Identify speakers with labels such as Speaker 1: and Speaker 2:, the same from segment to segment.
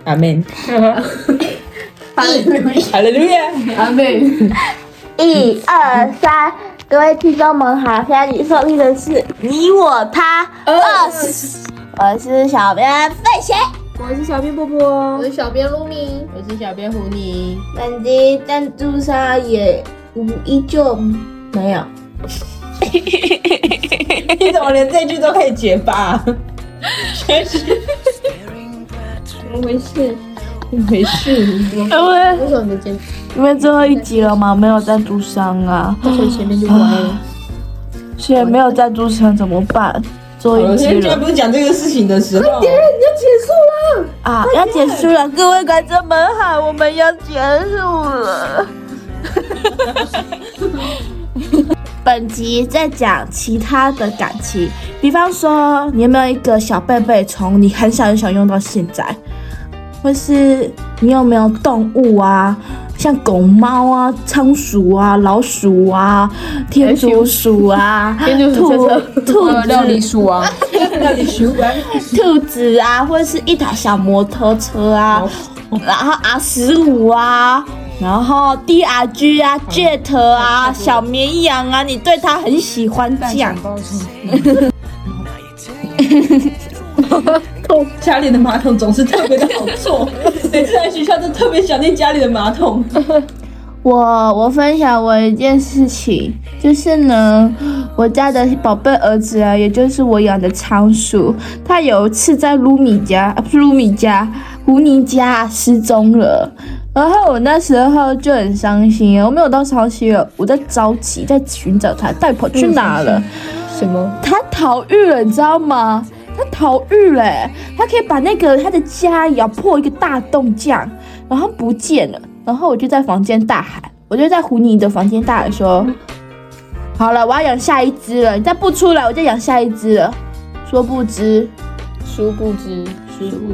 Speaker 1: 阿门，哈利路亚，
Speaker 2: 阿妹，
Speaker 3: 1、2、3，各位听众们好，现在你收听的是你我他20，我是小编费贤，
Speaker 1: 我是小编波波，
Speaker 2: 我是小编露米，
Speaker 4: 我是小编胡妮。
Speaker 3: 本集赞助商也依旧没有。
Speaker 1: 你怎么连这句都可以结巴？真是
Speaker 2: 怎么回事？
Speaker 1: 怎么回事？
Speaker 2: 为什么没见？
Speaker 3: 因为最后一集了嘛，没有赞助商啊，
Speaker 2: 所以前面就歪了。
Speaker 3: 现在没有赞助商怎么办？最后一集了
Speaker 1: 现在不是讲这个事情的时候，
Speaker 3: 啊，要结束了，各位观众们好，我们要结束了。本集在讲其他的感情，比方说，你有没有一个小贝贝从你很小用到现在，或是你有没有动物啊，像狗猫啊、仓鼠啊、老鼠啊、天竺鼠啊、兔子、
Speaker 4: 料理鼠啊，
Speaker 1: 料理鼠啊，
Speaker 3: 兔子啊，或者是一台小摩托车啊，然后 R15啊。然后 DRG 啊 ，Jet 啊，小绵羊啊，你对它很喜欢这样。
Speaker 1: 家里的马桶总是特别的好坐，每次来学校都特别想念家里的马桶。
Speaker 3: 我分享我一件事情，就是呢，我家的宝贝儿子啊，也就是我养的仓鼠，他有一次在胡妮家失踪了。然后我那时候就很伤心，我没有到伤心了，我在着急，在寻找他，到底跑去哪了？
Speaker 2: 什么？
Speaker 3: 他逃狱了，你知道吗？他逃狱了，他可以把他的家咬破一个大洞这样，然后不见了。然后我就在房间大喊，我就在胡妮的房间大喊说：“好了，我要养下一只了，你再不出来，我就养下一只了。”殊不知，
Speaker 2: 殊不知，
Speaker 3: 是殊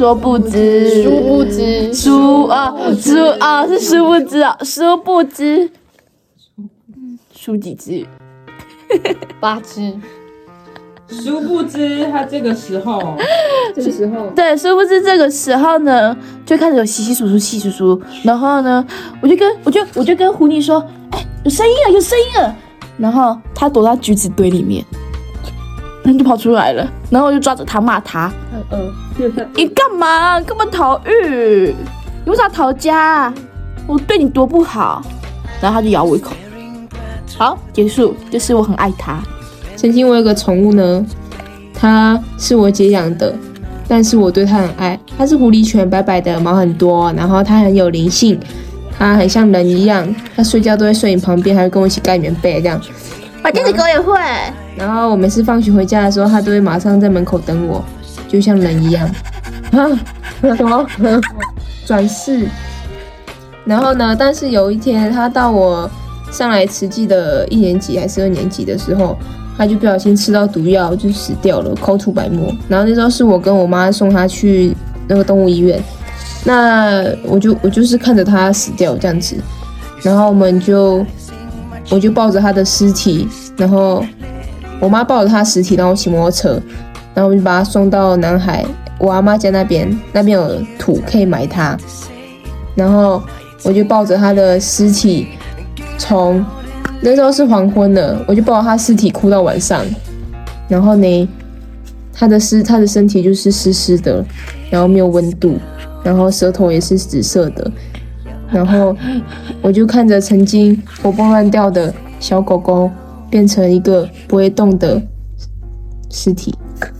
Speaker 3: 不知，输几只
Speaker 2: 8只。
Speaker 1: 殊不知他这个时候，
Speaker 3: 对，殊不知这个时候呢，就开始有稀稀疏疏，然后呢，我就跟胡妮说，哎，有声音了，然后他躲到橘子堆里面，他就跑出来了，然后我就抓着他骂他，你干嘛逃狱？你为啥逃家？我对你多不好，然后他就咬我一口，好，结束，就是我很爱他。
Speaker 4: 曾经我有个宠物呢，它是我姐养的，但是我对它很爱。它是狐狸犬，白白的，毛很多，然后它很有灵性，它很像人一样，它睡觉都会睡你旁边，还会跟我一起盖棉被这样。
Speaker 3: 我家的狗也会。
Speaker 4: 然后我每次放学回家的时候，它都会马上在门口等我，就像人一样。什么？转世。然后呢？但是有一天，它到我上来慈济的1年级还是2年级的时候，他就不小心吃到毒药，就死掉了，口吐白沫。然后那时候是我跟我妈送他去那个动物医院，那我就是看着他死掉这样子，然后我就抱着他的尸体，然后我妈抱着他尸体，然后骑摩托车，然后我就把他送到南海我阿妈家那边有土可以埋他，然后我就抱着他的尸体从。那时候是黄昏了，我就抱着他尸体哭到晚上，然后呢，他的身体就是湿湿的，然后没有温度，然后舌头也是紫色的，然后我就看着曾经活蹦乱跳的小狗狗变成一个不会动的尸体，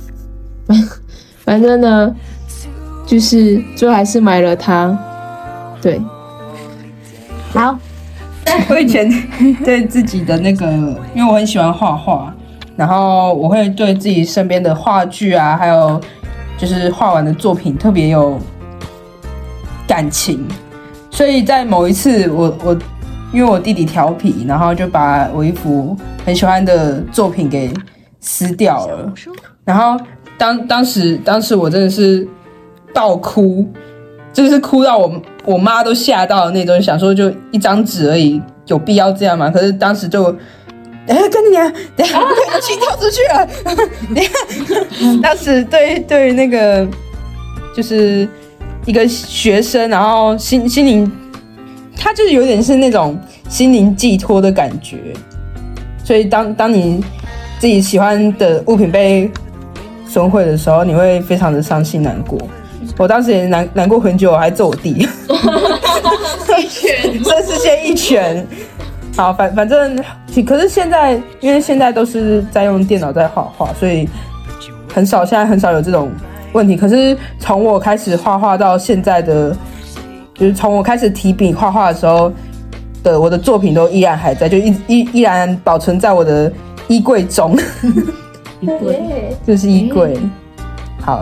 Speaker 4: 反正呢，就是最后还是埋了它，对，
Speaker 3: 好。
Speaker 1: 我以前对自己的那个，因为我很喜欢画画，然后我会对自己身边的话剧啊，还有就是画完的作品特别有感情，所以在某一次我因为我弟弟调皮，然后就把我一幅很喜欢的作品给撕掉了，然后当时我真的是爆哭。就是哭到我妈都吓到的那种，想说就一张纸而已，有必要这样吗？可是当时就，跟你讲，等一下要去跳出去了，等一下，当时对于那个就是一个学生，然后心灵，他就是有点是那种心灵寄托的感觉。所以当你自己喜欢的物品被损毁的时候，你会非常的伤心难过。我当时也难过很久，我还揍我弟，
Speaker 2: 一拳，
Speaker 1: 真是先一拳。好，反正，可是现在，因为现在都是在用电脑在画画，所以现在很少有这种问题。可是从我开始画画到现在的，就是从我开始提笔画画的时候的，我的作品都依然还在，就依然保存在我的衣柜中。
Speaker 2: 衣柜，
Speaker 1: 就是衣柜。好，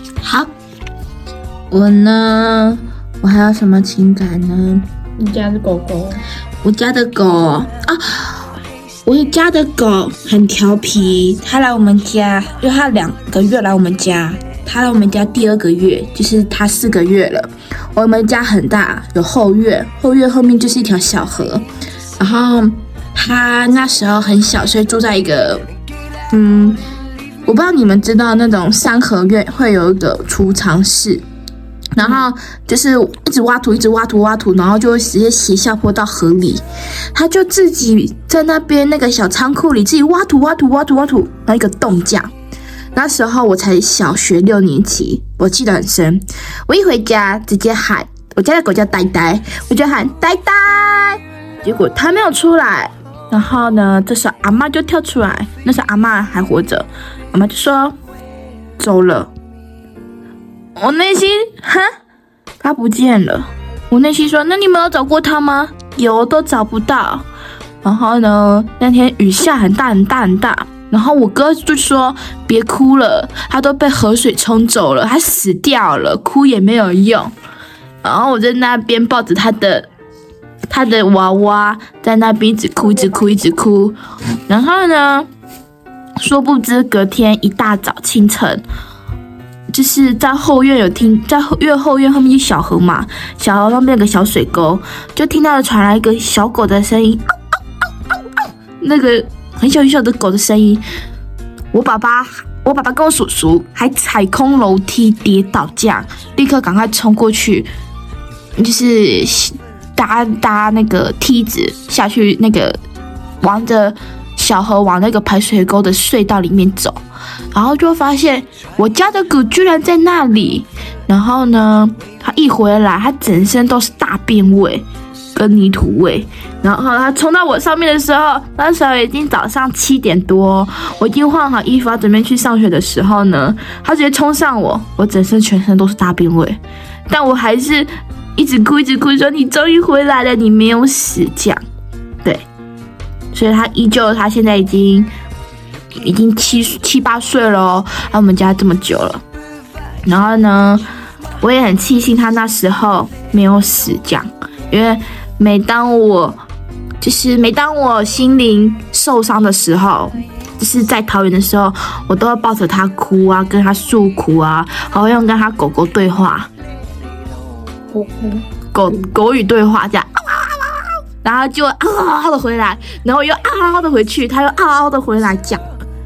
Speaker 3: 我呢，我还有什么情感呢？
Speaker 2: 你家的狗狗，
Speaker 3: 我家的狗啊，我家的狗很调皮，它来我们家，因为它2个月来我们家，它来我们家第2个月，就是它4个月了。我们家很大，有后院，后院后面就是一条小河，然后它那时候很小，所以住在一个，我不知道你们知道那种3合院会有一个储藏室。然后就是一直挖土，然后就会直接斜下坡到河里。他就自己在那边那个小仓库里自己挖土，然后一个洞这样。那时候我才小学6年级，我记得很深。我一回家直接喊，我家的狗叫呆呆，我就喊呆呆，结果它没有出来。然后呢，这时候阿嬷就跳出来，那时候阿嬷还活着，阿嬷就说走了。我内心他不见了。我内心说，那你们有找过他吗？有，都找不到。然后呢，那天雨下很大，然后我哥就说别哭了，他都被河水冲走了，他死掉了，哭也没有用。然后我在那边抱着他的娃娃，在那边一直哭。然后呢，殊不知隔天一大早清晨，就是在后院在后院后面就小河嘛，小河上面有个小水沟，就听到了传来一个小狗的声音，那个很小的狗的声音。我爸爸跟我叔叔还踩空楼梯跌倒，这样立刻赶快冲过去，就是搭那个梯子下去，那个往着小河往那个排水沟的隧道里面走。然后就发现我家的狗居然在那里。然后呢，它一回来，它整身都是大便味跟泥土味。然后它冲到我上面的时候，那时候已经早上7点多，我已经换好衣服要准备去上学的时候呢，它直接冲上我，我整身全身都是大便味，但我还是一直哭说你终于回来了，你没有死这样。对，所以它现在已经7、8岁了哦，来我们家这么久了。然后呢，我也很庆幸他那时候没有死这样，因为每当我心灵受伤的时候，就是在桃园的时候，我都会抱着他哭啊，跟他诉苦啊，还会用跟他狗狗对话，狗语对话这样。然后就嗷嗷的回来，然后又嗷嗷的回去，他又嗷嗷的回来讲。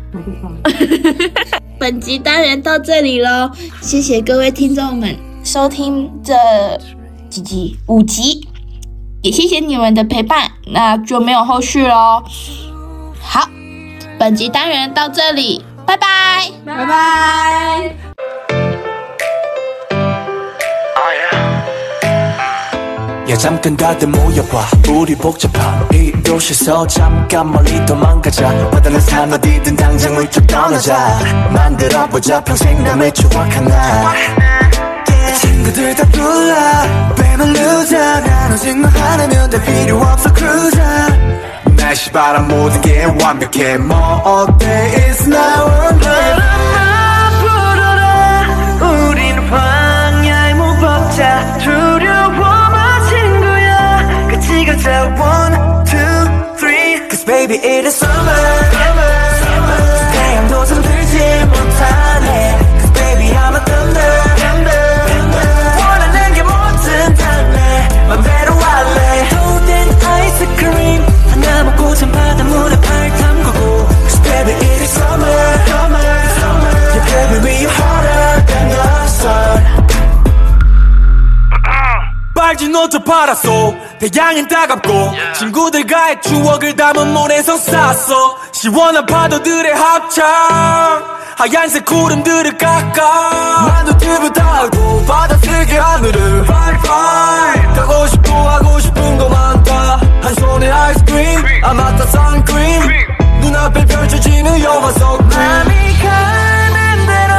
Speaker 3: 本集单元到这里咯，谢谢各位听众们收听这5集，也谢谢你们的陪伴，那就没有后续咯。好，本集单元到这里，拜拜，
Speaker 1: 拜拜。
Speaker 5: 야 잠깐 다들 모여봐 우리 복잡한 이 도시에서 잠깐 멀리 도망가자 와닿는 산 어디든 당장 훌쩍 떠나자 만들어보자 평생 남의 추억 하나 친구들 다 불러 뱀을 누자 난 오직만 하나면 다 필요 없어 cruiser 날씨 바람 모든 게 완벽해 뭐 어때 It's now or never 불어라 우린 황야의 무법자 두려워 가자 1, 2, 3 Cause baby it is summer 태양도 잠들지 못하네 Cause baby I'm a thunder 원하는 게 뭐든 달래 맘대로 할래 golden 아이스크림 하나 먹고 전 바닷물에 발 담그고 Cause baby it is summer Yeah baby we are hotter than the sun
Speaker 3: 「
Speaker 5: Cause baby it is summer Cause baby it is summer Yeah baby we are hotter than the sun 너 저 바닷속 태양은 따갑고 친구들과의 추억을 담은 모래성 쌌어 시원한 파도들의 합창 하얀색 구름들을 깎아 만두 팁을 달고 받아쓰게 하늘을 Fly 가고 싶고 하고 싶은 거 많다 한 손에 아이스크림 아 맞다 선크림 눈앞에 펼쳐지는 영화 속 맘이 가는 대로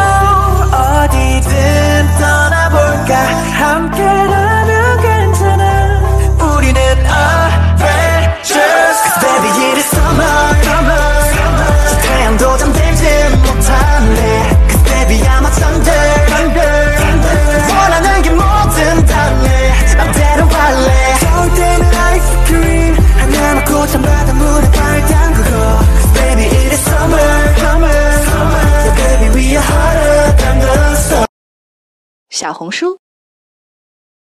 Speaker 5: 어디든 떠나볼까 함께라면 괜찮아 우리는 adventurous Cause baby it is summer 저 태양도 잠들지 못하네 Cause baby I'm a thunder 원하는 게 뭐든 달래 맘대로 할래 더울 때는 아이스크림 하나 먹고 찬바다 물에 발 담그고 Cause baby it is summer Yeah baby we are hotter than the sun
Speaker 6: 小红书